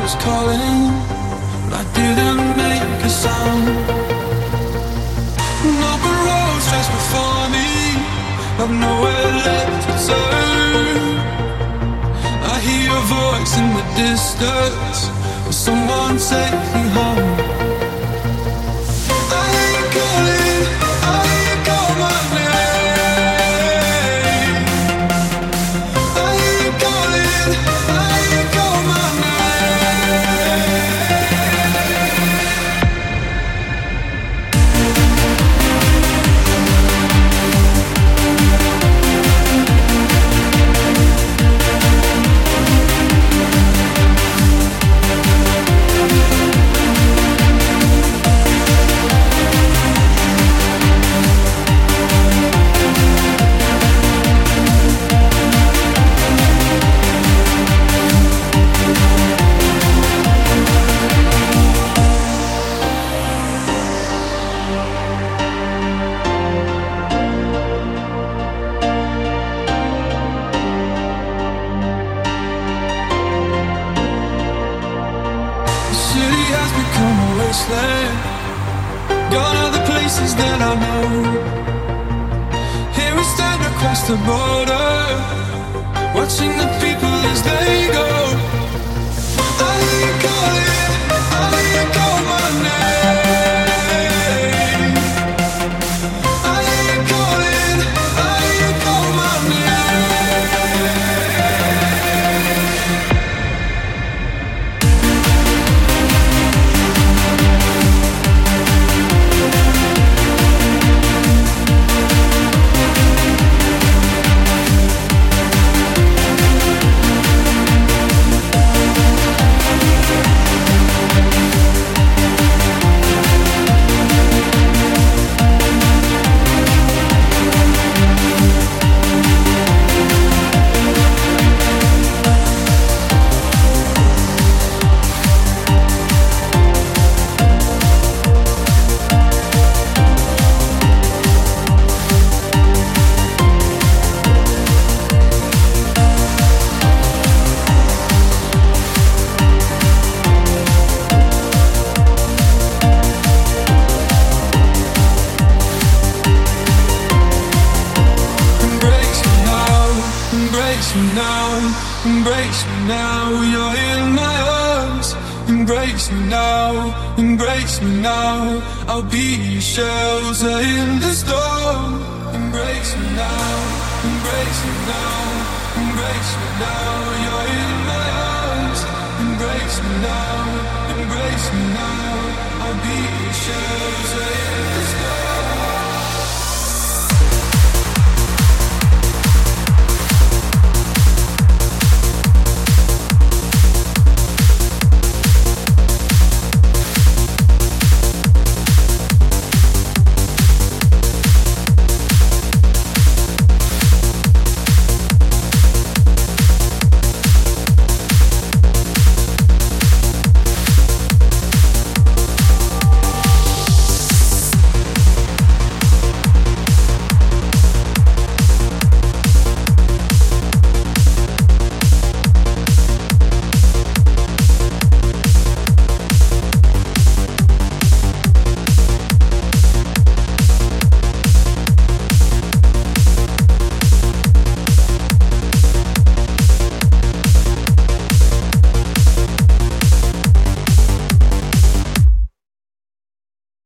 was calling, but I didn't make a sound. An open road stretched before me, I've nowhere left to turn. I hear your voice in the distance, will someone take me home? I hear you calling, I hear you call my name. I hear you calling, I hear you call my gone are the places that I know. Here we stand across the border, watching the people as they go. I hear you calling, I hear you call my name. I hear you calling, I hear you call my Embrace me now, you're in my arms. Embrace me now, embrace me now. I'll be your shelter in the storm. Embrace me now, embrace me now, embrace me now. You're in my arms. Embrace me now, embrace me now. I'll be your shelter in the storm.